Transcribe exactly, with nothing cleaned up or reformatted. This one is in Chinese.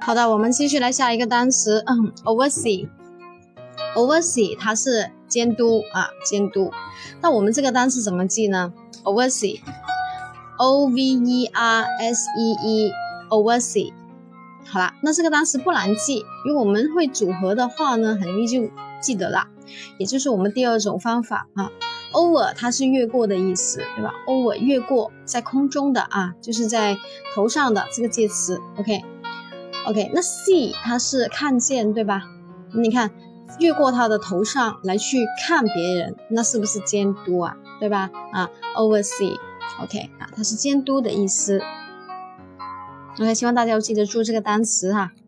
好的，我们继续来下一个单词，嗯 oversee。oversee 它是监督啊，监督。那我们这个单词怎么记呢 ？oversee O V E R S E E oversee。好啦，那这个单词不难记，如果我们会组合的话呢，很容易就记得了。也就是我们第二种方法啊 ，over 它是越过的意思，对吧 ？over 越过，在空中的啊，就是在头上的这个介词 ，OK。OK， 那 see 它是看见，对吧？你看，越过他的头上来去看别人，那是不是监督啊？对吧？啊 ，oversee，OK， 啊，它是监督的意思。OK， 希望大家要记得住这个单词哈。